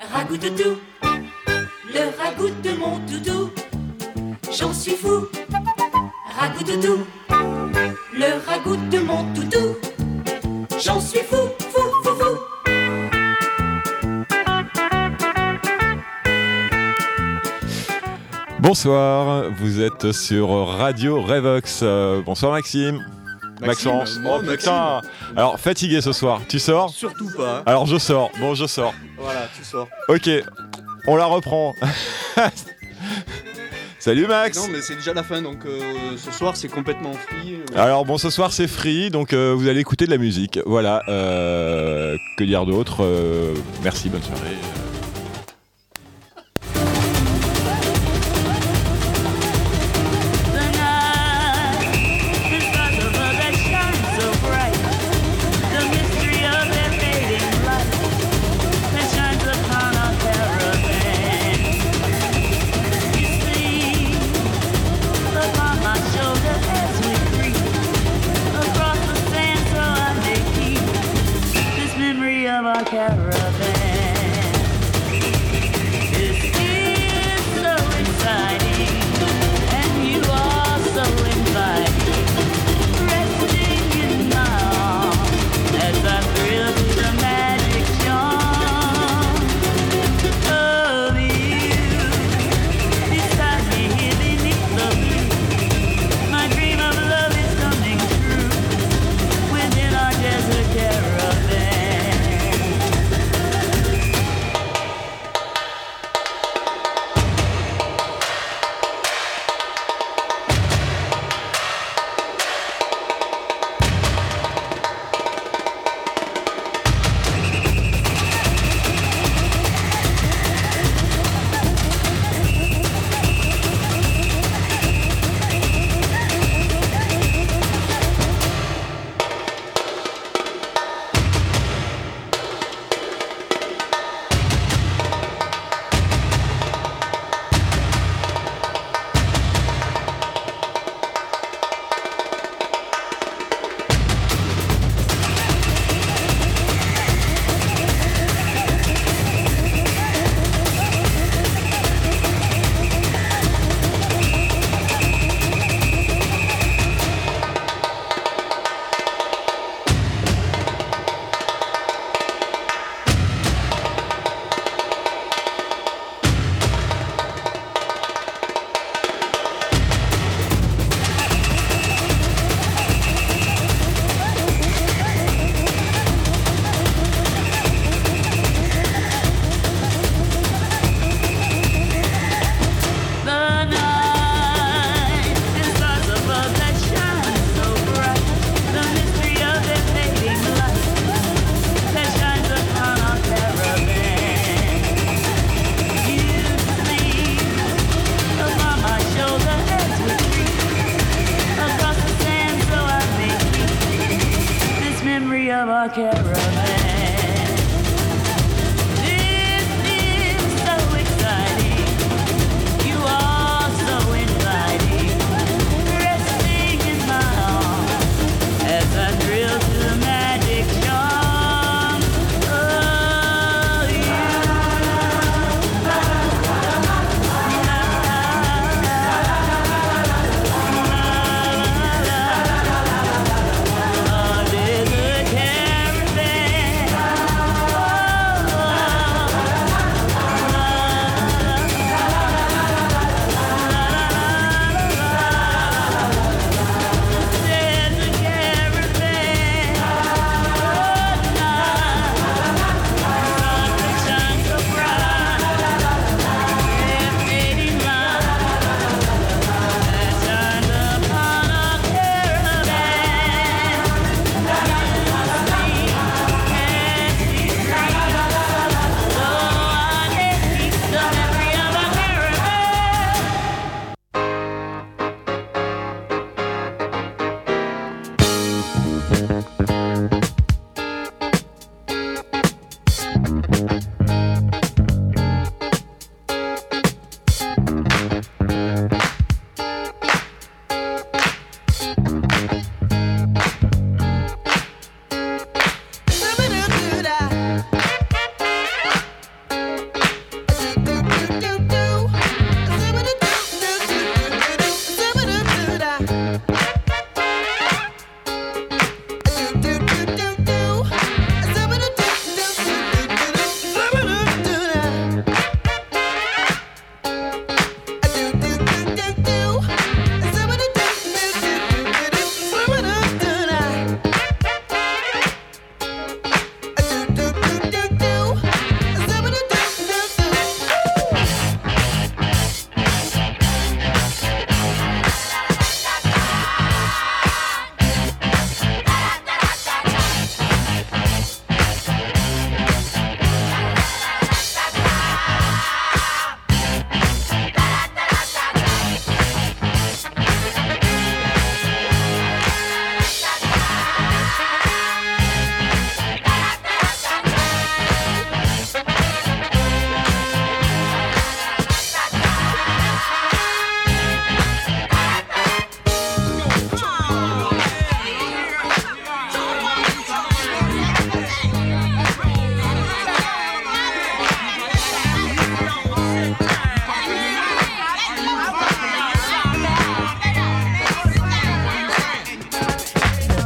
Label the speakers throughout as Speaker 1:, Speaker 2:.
Speaker 1: Ragout-toutou, le ragout de mon toutou, j'en suis fou. Ragout-toutou, le ragout de mon toutou, j'en suis fou, fou, fou, fou.
Speaker 2: Bonsoir, vous êtes sur Radio Revox. Bonsoir Maxime. Maxence.
Speaker 3: Oh putain.
Speaker 2: Alors fatigué ce soir, tu sors ?
Speaker 3: Surtout pas.
Speaker 2: Alors je sors, bon je sors.
Speaker 3: Voilà, tu sors.
Speaker 2: Ok, on la reprend. Salut Max.
Speaker 3: Non mais c'est déjà la fin donc ce soir c'est complètement free.
Speaker 2: Alors bon ce soir c'est free donc vous allez écouter de la musique. Voilà, que dire d'autre merci, bonne soirée.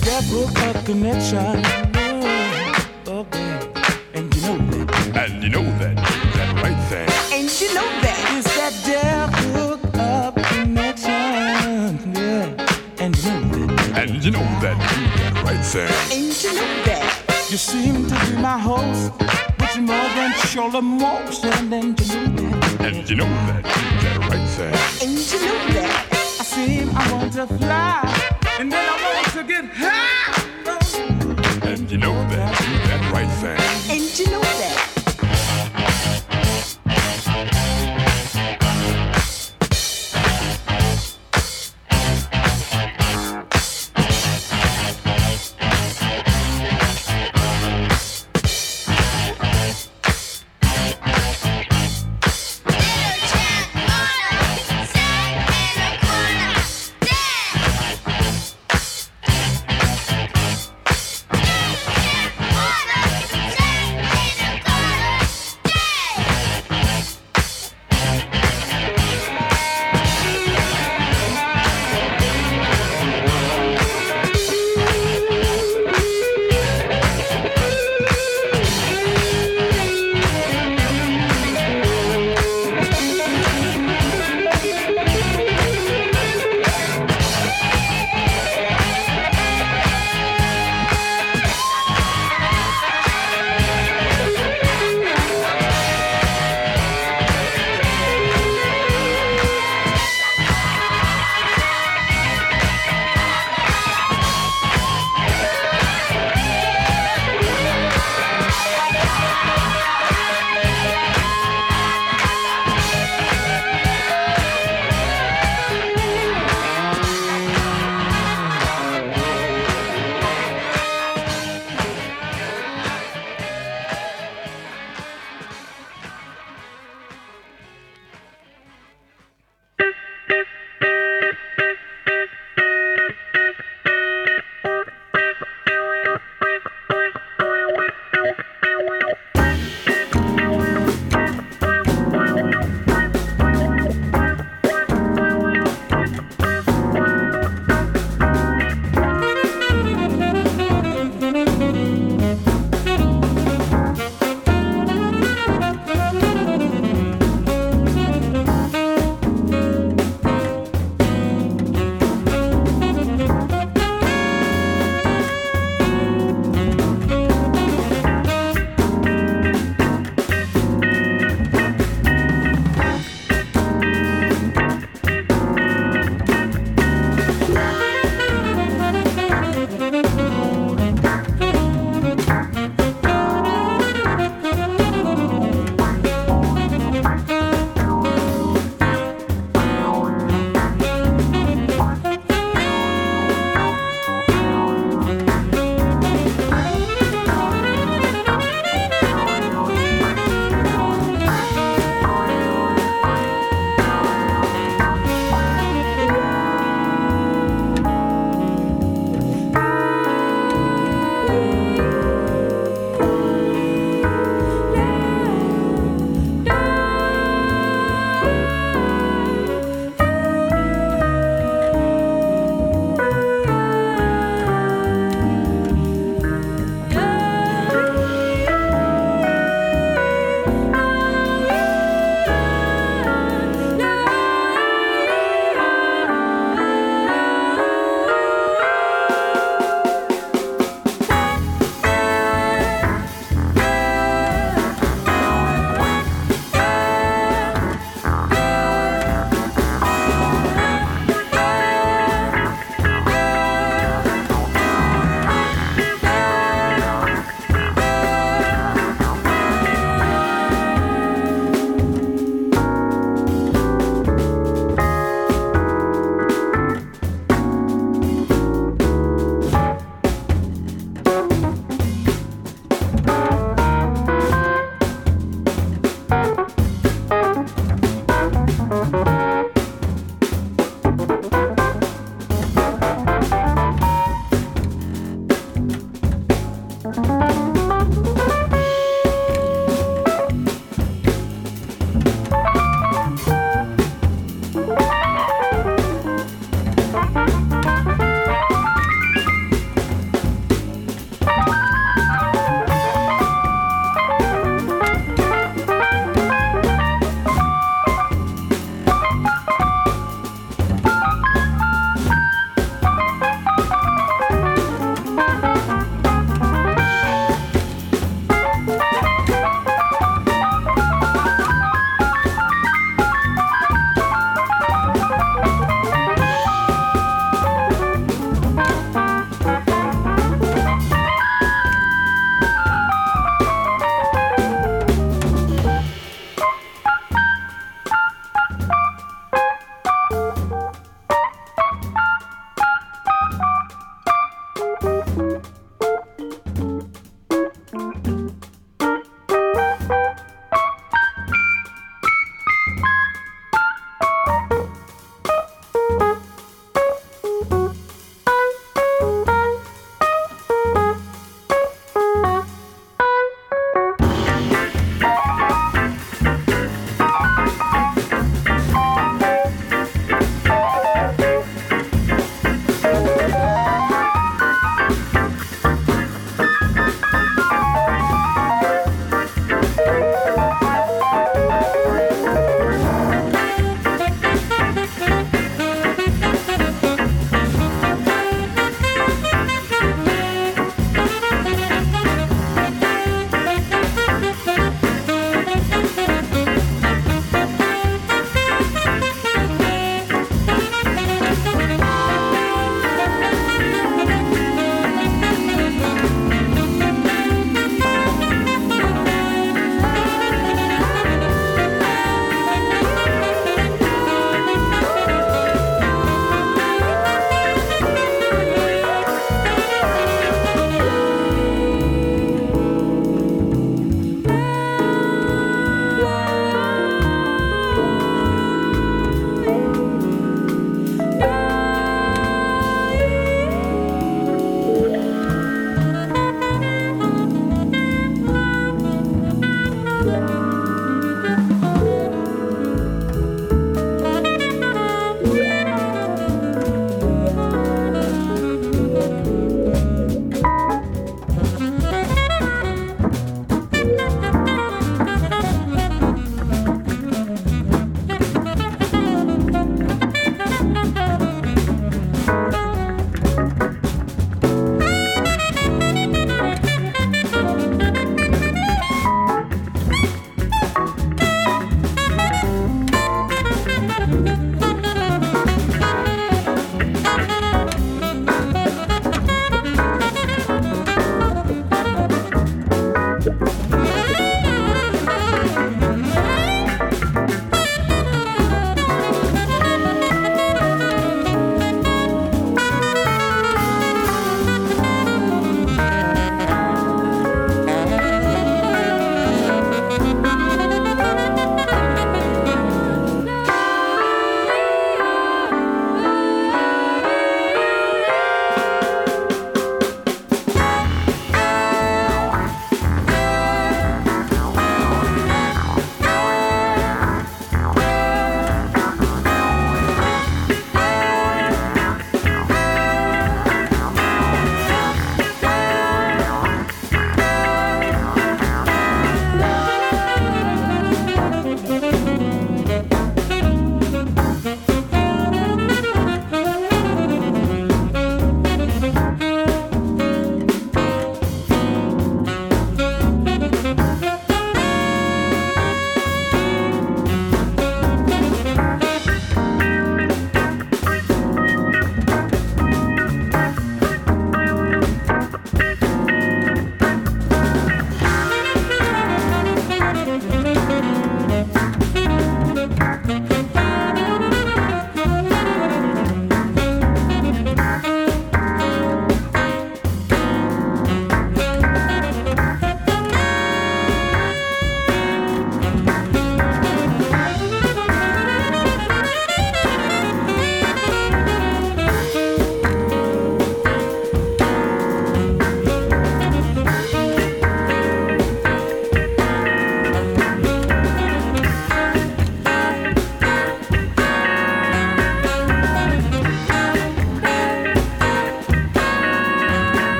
Speaker 4: devil a connection. Oh, babe. And you know that.
Speaker 5: And you know that, that right thing.
Speaker 4: And you know that. It's that devil a connection. Yeah. And you know that.
Speaker 5: And you know that, that right thing.
Speaker 4: And you know that. You seem to be my host, with more than shoulder emotion. And you know that.
Speaker 5: And you know that, that right thing.
Speaker 4: And you know that. I want to fly, and then I want to get high.
Speaker 5: And you know that, that right thing.
Speaker 4: And you know that.
Speaker 6: Little chap wanna sit in a corner.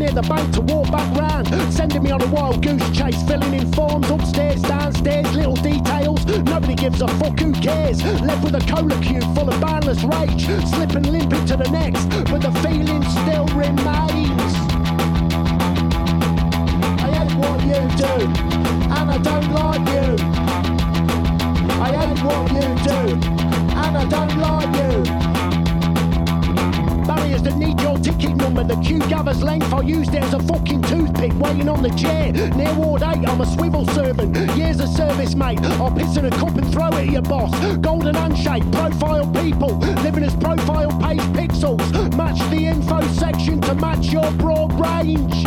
Speaker 6: clear the bank to walk back round. Sending me on a wild goose chase, filling in forms upstairs, downstairs, little details. Nobody gives a fuck, who cares? Left with a cola cube full of boundless rage, slip and limp into the next, but the feeling still remains. I hate what you do, and I don't like you. I hate what you do, and I don't like you. Barriers that need your ticket number, the queue gathers length. I used it as a fucking toothpick, waiting on the chair. Near Ward 8, I'm a swivel servant. Years of service, mate. I'll piss in a cup and throw it at your boss. Golden handshake, profile people, living as profile page pixels. Match the info section to match your broad range.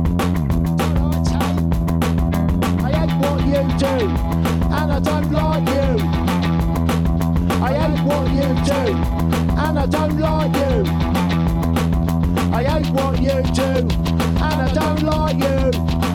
Speaker 6: I hate what you do, and I don't like you. I hate what you do, and I don't like you. I hate what you do, and I don't like you.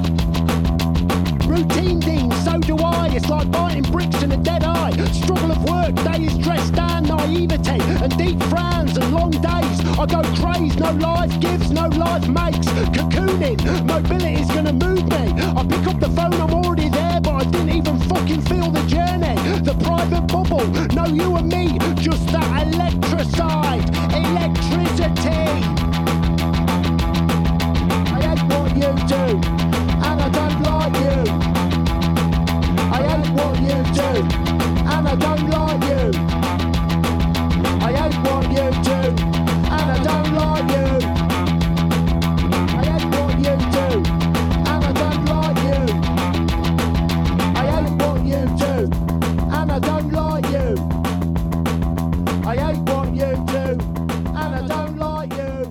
Speaker 6: Routine ding, so do I. It's like biting bricks in a dead eye. Struggle of work, days dressed down, naivety and deep frowns and long days. I go crazy, no life gives, no life makes. Cocooning, mobility's gonna move me. I pick up the phone, I'm already there, but I didn't even fucking feel the journey. The private bubble, no you and me, just that electricide, electricity. What you do, and I don't like you. I hate what you do, and I don't like you. I hate what you do, and I don't like you. I hate what you do, and I don't like you. I hate what you do, and I don't like you. I hate what you do, and I don't like you.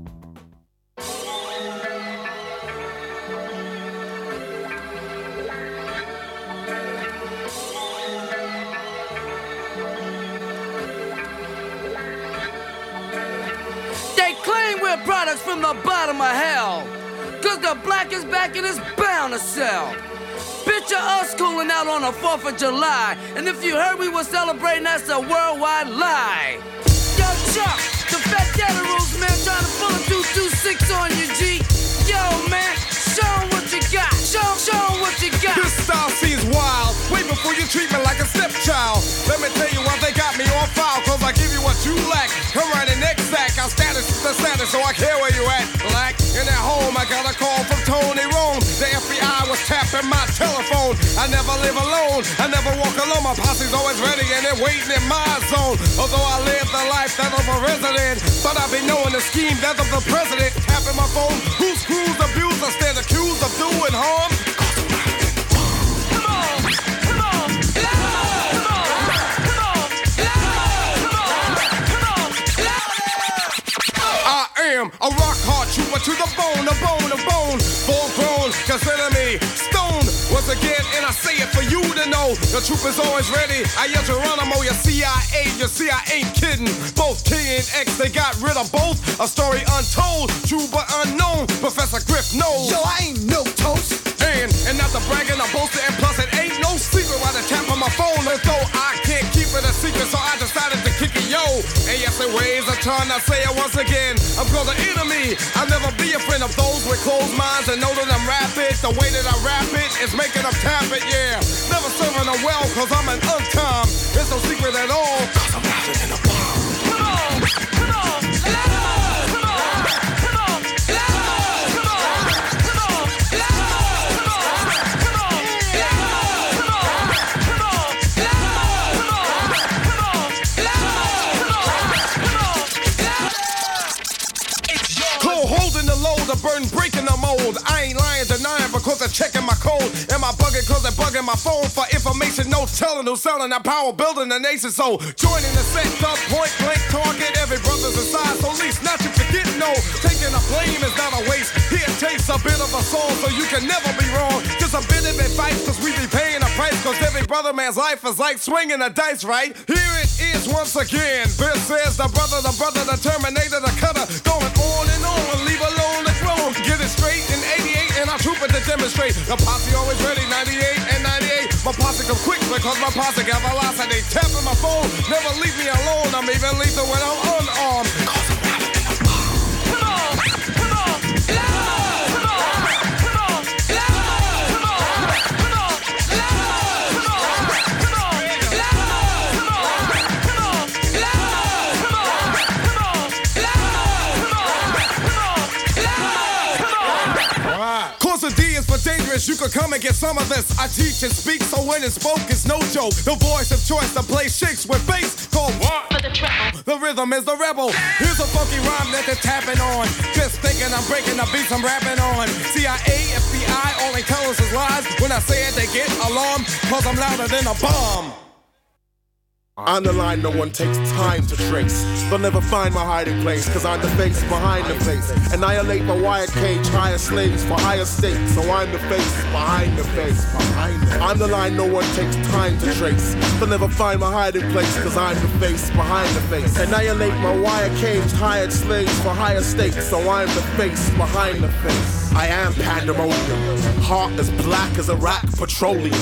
Speaker 7: Products from the bottom of hell, cause the black is back and it's bound to sell. Picture us cooling out on the 4th of July, and if you heard we were celebrating, that's a worldwide lie. Yo, Chuck, the Fat Daddy Rules, man, trying to pull a 226 on you, G. Yo, man, show 'em what you got. Show 'em what you got.
Speaker 8: This style seems wild, way before you treat me like a stepchild. Let me tell you why they got me on file, cause I give you what you lack. Come right in next sack, I'll status the status, so I care where you at, black. In at home, I got a call from Tony Rome. The FBI was tapping my telephone. I never live alone, I never walk alone. My posse's always ready and they're waiting in my zone. Although I live the life that of a resident, but I be knowing the scheme that of the president. Tapping my phone, who screws abuse? I stand accused of doing harm. A rock hard trooper to the bone, a bone, a bone. Full grown, consider me stoned. Once again, and I say it for you to know, the troop is always ready. I yell Geronimo, your CIA, you see I ain't kidding. Both King and X, they got rid of both. A story untold, true but unknown. Professor Griff knows. Yo, I ain't no toast. And not the bragging, I'm boasting, and plus it ain't no secret why they tap on my phone. Although I can't keep it a secret, so I decided to kick it, yo. And yes, it weighs a ton, I say it once again. I'm called an enemy, I'll never be a friend of those with closed minds and know that I'm rapid. The way that I rap it is making them tap it, yeah. Never serving them well, cause I'm an untime. It's no secret at all, cause I'm rapping in a bomb. Come on, come on, let the burden breaking the mold. I ain't lying, denying because they're checking my code. Am I bugging cause they're bugging my phone for information? No telling who's selling that power, building the nation. So joining the set, the point blank target. Every brother's aside, so at least not you forget. No, taking the blame is not a waste. Here takes a bit of a soul, so you can never be wrong. Just a bit of advice, cause we be paying a price. Cause every brother man's life is like swinging a dice, right? Here it is once again. Bill says the brother, the Terminator, the cutter. Going on and on, leave alone the throne. Get it straight in 88 and I troop it to demonstrate. The posse always ready, 98 and 98. My posse come quick because my posse got velocity. Tapping my phone, never leave me alone. I'm even lethal when I'm unarmed. Cause I'm rapping in the bomb. Come on, come on, come on. You could come and get some of this. I teach and speak, so when it's spoke, it's no joke. The voice of choice to play shakes with bass called what?
Speaker 1: For the treble.
Speaker 8: The rhythm is the rebel. Here's a funky rhyme that they're tapping on. Just thinking I'm breaking the beats I'm rapping on. CIA, FBI, all they tell us is lies. When I say it, they get alarmed, cause I'm louder than a bomb.
Speaker 9: On the line, no one takes time to trace. They'll never find my hiding place, cause I'm the face behind the face. Annihilate my wired cage, hire slaves for higher stakes. So I'm the face behind the face. I'm the line, no one takes time to trace. They'll never find my hiding place, cause I'm the face behind the face. Annihilate my wired cage, hired slaves for higher stakes. So I'm the face behind the face. I am pandemonium, heart as black as Iraq petroleum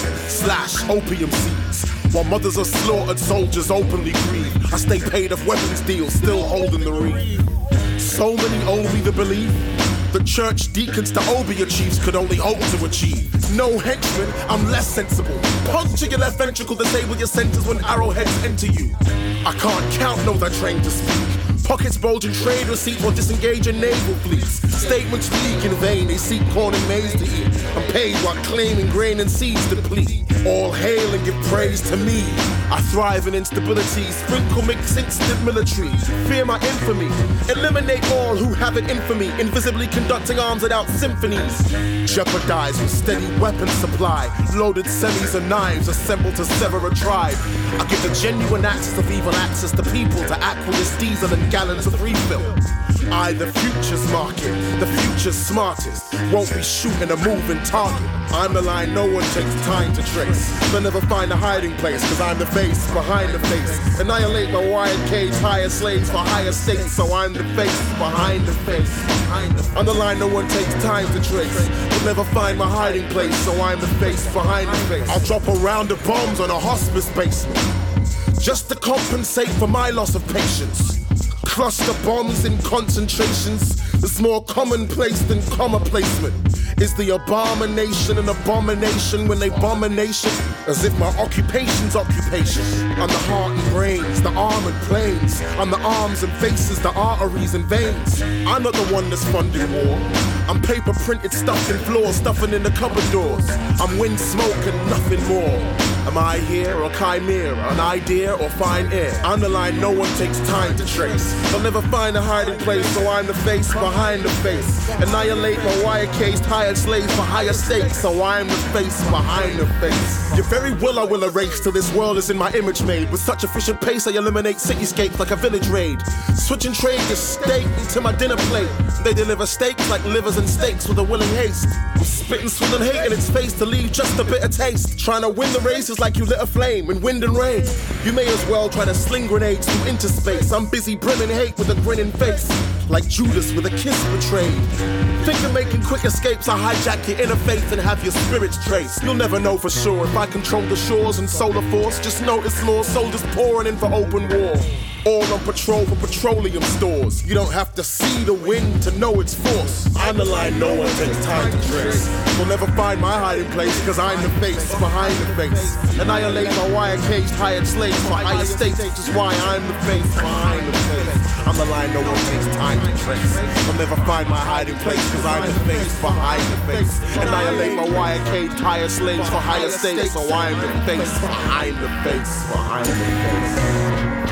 Speaker 9: / opium seeds. While mothers are slaughtered, soldiers openly grieve. I stay paid off weapons deals, still holding the reef. So many owe me the belief the church deacons to Obia chiefs could only hope to achieve. No henchmen, I'm less sensible. Puncture your left ventricle, disable your senses when arrowheads enter you. I can't count, no, they're trained to speak. Pockets bulge in trade receipts or disengage in naval fleets. Statements leak in vain, they seek corn and maize to eat. I'm paid while claiming grain and seeds deplete. All hail and give praise to me. I thrive in instability, sprinkle mix instant military. Fear my infamy, eliminate all who have it in for me. Invisibly conducting arms without symphonies. Jeopardize with steady weapon supply. Loaded semis and knives assembled to sever a tribe. I give the genuine access of evil access to people to aqueous diesel and gallons of refill. I, the future's market, the future's smartest. Won't be shooting a moving target. I'm the line no one takes time to trace. They'll never find a hiding place, cause I'm the face behind the face. Annihilate my wired cage, hire slaves for higher stakes. So I'm the face behind the face. On the line no one takes time to trace. They'll never find my hiding place, so I'm the face behind the face. I'll drop a round of bombs on a hospice basement, just to compensate for my loss of patience. Cluster bombs in concentrations is more commonplace than comma placement. Is the abomination an abomination when they bomb a nation? As if my occupation's occupation. I'm the heart and brains, the armored planes. I'm the arms and faces, the arteries and veins. I'm not the one that's funding war. I'm paper printed, stuffed in floors, stuffing in the cupboard doors. I'm wind, smoke and nothing more. Am I here or chimera, an idea or fine air? I'm the line no one takes time to trace. They'll never find a hiding place, so I'm the face behind the face. Annihilate my wire-cased hired slaves for higher stakes, so I'm the face behind the face. Your very will I will erase till this world is in my image made. With such efficient pace I eliminate cityscapes like a village raid. Switching trade your steak into my dinner plate. They deliver steaks like livers and steaks with a willing haste. I'm spitting swilling hate in its face to leave just a bitter taste. Trying to win the race is like you lit a flame in wind and rain. You may as well try to sling grenades through interspace. I'm busy brimming hate with a grinning face, like Judas with a kiss betrayed. Think of making quick escapes, I hijack your inner faith and have your spirits traced. You'll never know for sure if I control the shores and solar force. Just notice more soldiers pouring in for open war. All on patrol for petroleum stores. You don't have to see the wind to know its force. I'm the line no one takes time to trace. You'll never find my hiding place, cause I'm the face behind the face. Annihilate my wire-caged hired slaves for higher stakes, which is why I'm the face behind the face. I'm the line no one takes time to trace. You'll never find my hiding place, cause I'm the face behind the face. Annihilate my wire-caged hired slaves for higher stakes, so I'm the face behind the face behind the face.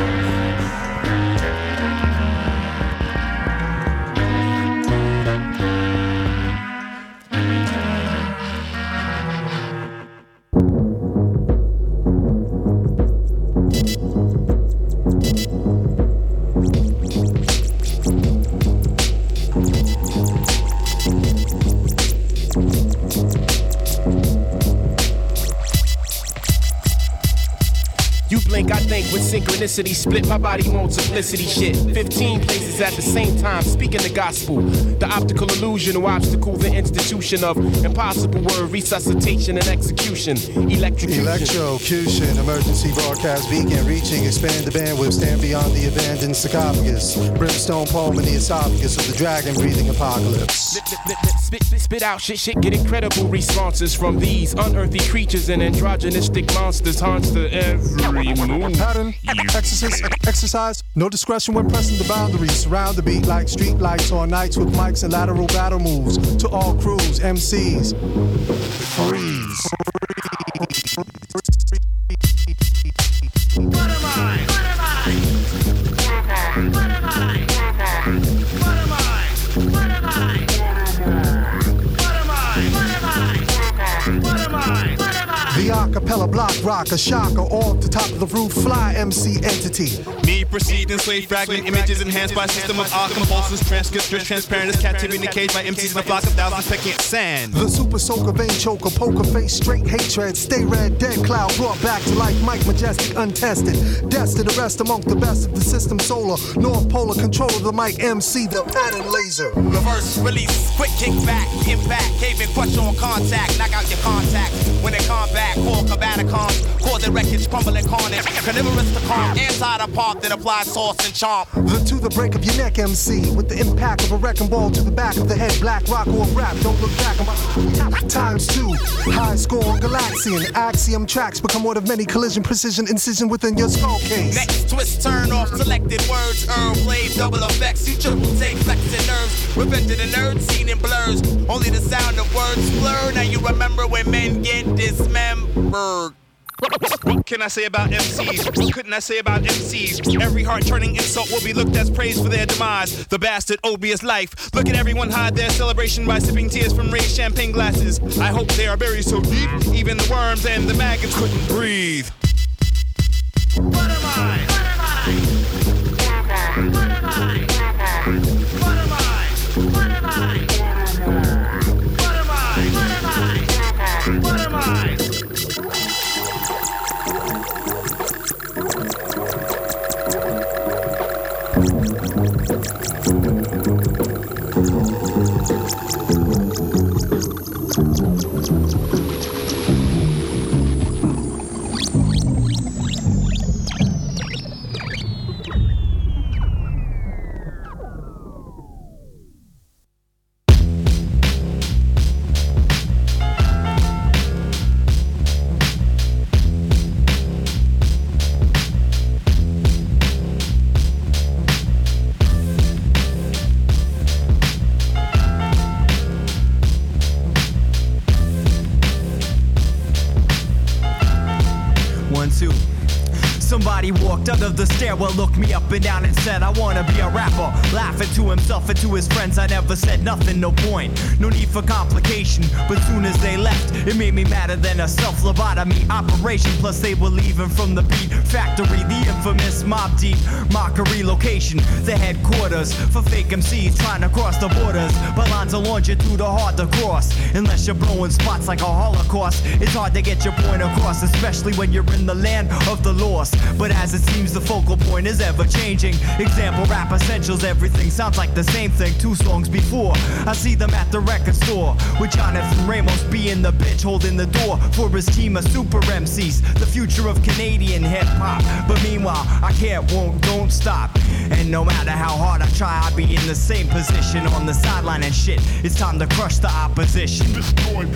Speaker 10: I think with synchronicity, split my body on simplicity shit. 15 places at the same time, speaking the gospel. The optical illusion will obstacle the institution of impossible word resuscitation and execution. Electrocution,
Speaker 11: emergency broadcast beacon, reaching, expand the bandwidth, stand beyond the abandoned sarcophagus. Brimstone palm in the esophagus of the dragon breathing apocalypse.
Speaker 10: Spit out shit, get incredible responses from these unearthly creatures and androgynistic monsters. Haunts to every
Speaker 11: Pattern, exercise, no discretion when pressing the boundaries. Surround the beat like street lights on nights with mics and lateral battle moves. To all crews, MCs, freeze.
Speaker 12: What am I? What am I? What am I? What am I? What am I? What am I? What am I?
Speaker 11: The acapella block rocker, shocker, off the top of the roof, fly MC entity.
Speaker 13: Me proceed in slave fragment images enhanced by system of art compulsions, transcripts transparent as captivity in the cage by MCs in a flock of thousands pecking at sand.
Speaker 11: The super soaker, vein choker, poker face, straight hatred, stay red, dead cloud, brought back to life, Mike Majestic, untested, destined to rest amongst the best of the system, solar, North Polar, control of the mic MC, the pattern laser.
Speaker 14: Reverse release, quick kick back, impact, caving, crush on contact, knock out your contact. When they come back, call Cabanicons, cause the wreckage, crumbling carnage, carnivorous to calm, inside a pop that applies sauce and chomp.
Speaker 11: To the break of your neck, MC, with the impact of a wrecking ball to the back of the head, black rock or rap, don't look back on my times two, high score, Galaxian, axiom tracks become one of many collision, precision, incision within your skull case.
Speaker 14: Next twist, turn off selected words, blade, double effects, you triple take flexing nerves, repented in nerds, seen in blurs, only the sound of words blur, now you remember when men get dismembered.
Speaker 13: What can I say about MCs? What couldn't I say about MCs? Every heart-turning insult will be looked as praise for their demise. The bastard odious life. Look at everyone hide their celebration by sipping tears from raised champagne glasses. I hope they are buried so deep, even the worms and the maggots couldn't breathe.
Speaker 12: What am I? What am I? What am I? What am I? What am I? What am I? What am I?
Speaker 15: Somebody walked out of the stairwell, looked me up and down and said, I wanna be a rapper. Laughing to himself and to his friends, I never said nothing, no point. No need for complication, but soon as they left, it made me madder than a self-lobotomy operation. Plus they were leaving from the beat factory, the infamous Mobb Deep mockery location. The headquarters for fake MCs trying to cross the borders. But lines of longitude are hard to cross, unless you're blowing spots like a Holocaust. It's hard to get your point across, especially when you're in the land of the lost. But as it seems, the focal point is ever changing. Example, rap essentials, everything sounds like the same thing 2 songs before. I see them at the record store with Jonathan Ramos being the bitch holding the door for his team of super MCs, the future of Canadian hip-hop. But meanwhile, I can't, won't, don't stop. And no matter how hard I try, I'll be in the same position on the sideline and shit. It's time to crush the opposition.
Speaker 5: Destroy.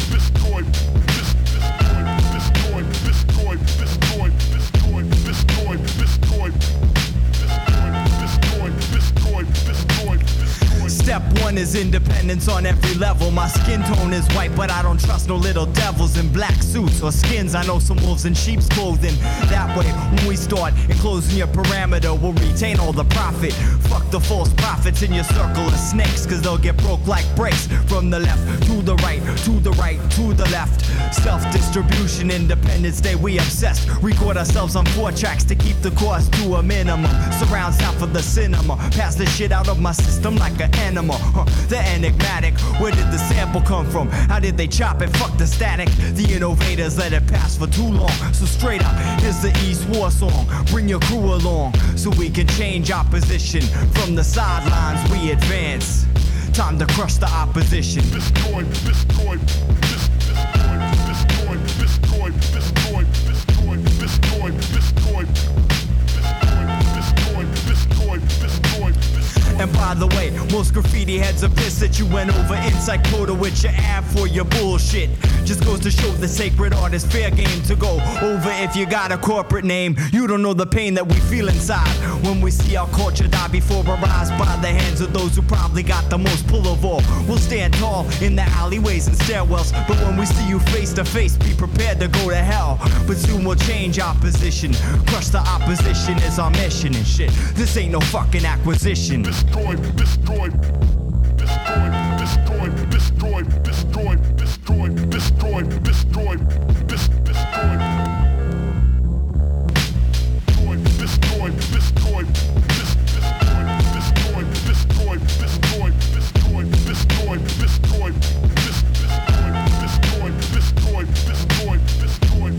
Speaker 15: Step 1 is independence on every level. My skin tone is white, but I don't trust no little devils in black suits or skins. I know some wolves in sheep's clothing. That way, when we start enclosing your parameter, we'll retain all the profit. Fuck the false prophets in your circle of snakes, cause they'll get broke like breaks. From the left to the right, to the right, to the left. Self-distribution, Independence Day, we obsessed. Record ourselves on 4 tracks to keep the cost to a minimum. Surround sound for the cinema. Pass the shit out of my system like an animal. The enigmatic, where did the sample come from? How did they chop it? Fuck the static. The innovators let it pass for too long. So straight up, here's the East War song. Bring your crew along, so we can change our position. From the sidelines we advance. Time to crush the opposition.
Speaker 5: Destroy.
Speaker 15: And by the way, most graffiti heads are pissed that you went over inside quota with your ad for your bullshit. Just goes to show the sacred art is fair game to go over if you got a corporate name. You don't know the pain that we feel inside when we see our culture die before our eyes by the hands of those who probably got the most pull of all. We'll stand tall in the alleyways and stairwells, but when we see you face to face, be prepared to go to hell. But soon we'll change our position. Crush the opposition is our mission and shit. This ain't no fucking acquisition.
Speaker 5: Destroy, destroy, destroy, destroy, destroy, destroy, destroy, destroy, destroy, destroy. Destroy, destroy, destroy, destroy, destroy, destroy, destroy, destroy, destroy, destroy, destroy, destroy.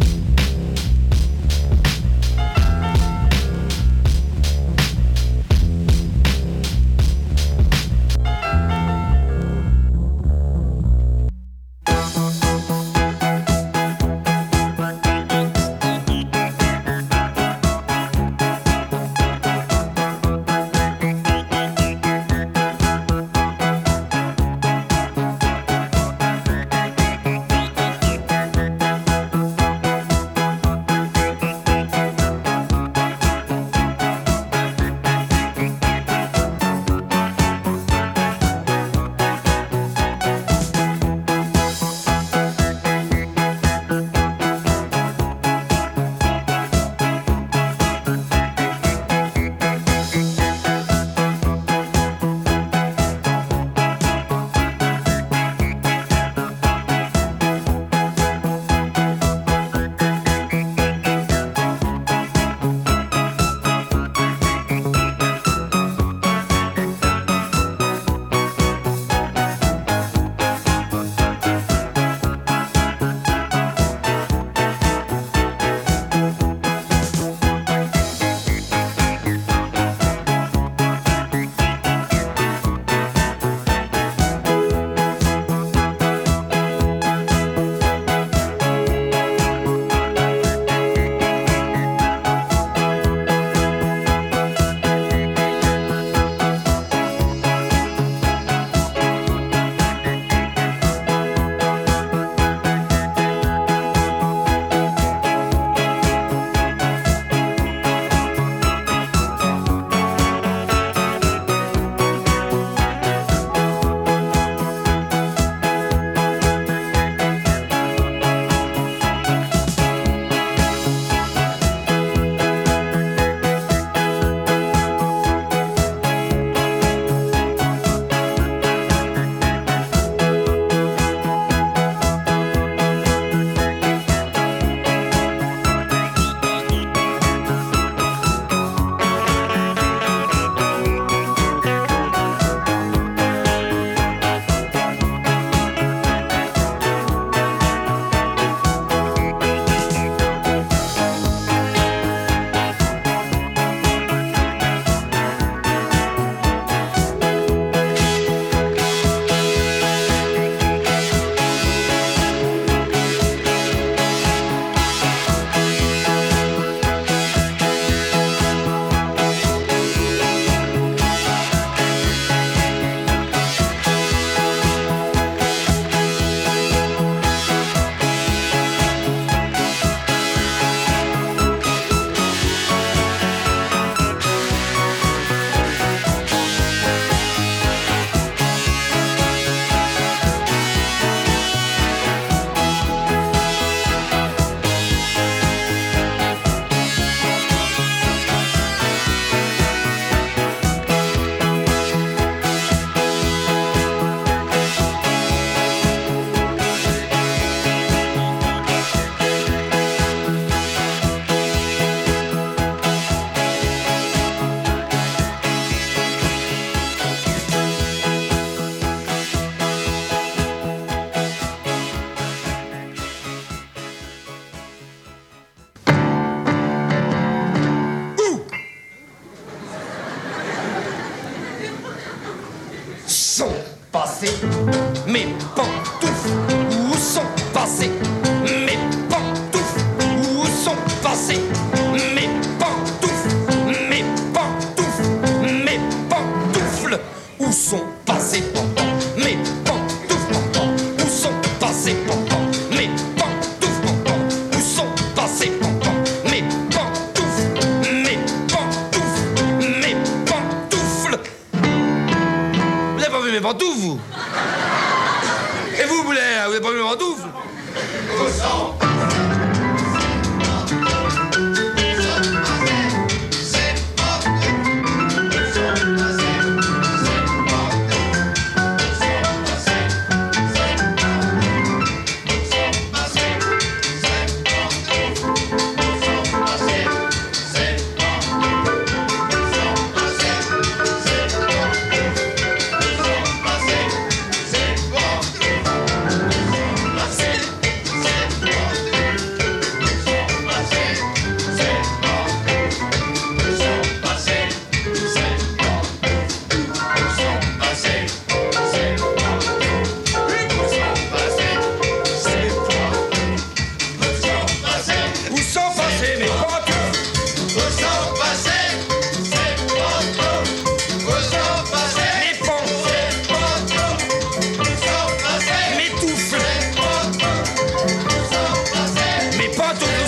Speaker 16: passées mes pantoufles? Où sont passées mes pantoufles? Où sont passées mes pantoufles? Mes pantoufles, mes pantoufles. Où sont passées mes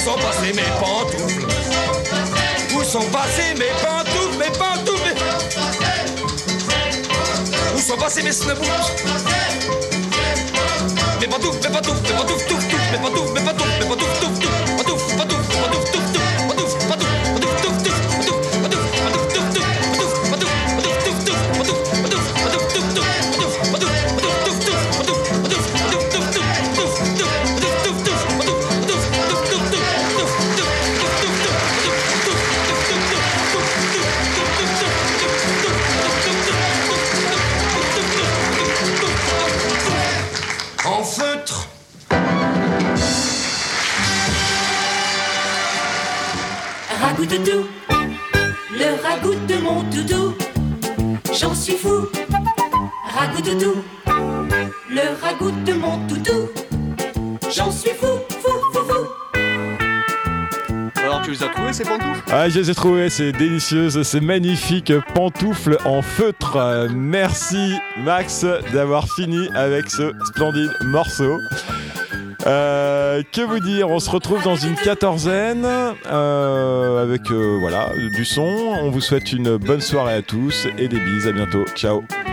Speaker 16: sont passées mes pantoufles? Où sont passées mes pantoufles, mes pantoufles? Où sont passées mes snowboots? Mes pantoufles, mes pantoufles, mes pantoufles, touf, touf, mes pantoufles, mes pantoufles, mes pantoufles, touf, touf, pantoufles, pantoufles, pantoufles, touf, touf, pantoufles, pantoufles, pantoufles, touf, touf, pantoufles, pantoufles, pantoufles, touf, touf, pantoufles, pantoufles, pantoufles, touf, touf, pantoufles, pantoufles, pantoufles, touf, touf, pantoufles, pantoufles, pantoufles, touf, touf, pantoufles, pantoufles, pantoufles, touf, touf, pantoufles, touf, touf, en feutre.
Speaker 1: Ragout doudou, le ragout de mon doudou, j'en suis fou. Ragout doudou, le ragout de mon doudou, j'en suis fou, fou, fou, fou.
Speaker 3: Alors tu les as trouvés ces pantoufles?
Speaker 2: Ah, je les ai trouvées, c'est délicieuse, c'est magnifique, pantoufles en feutre. Merci Max d'avoir fini avec ce splendide morceau. Que vous dire, on se retrouve dans une quatorzaine avec voilà, du son. On vous souhaite une bonne soirée à tous et des bises, à bientôt, ciao.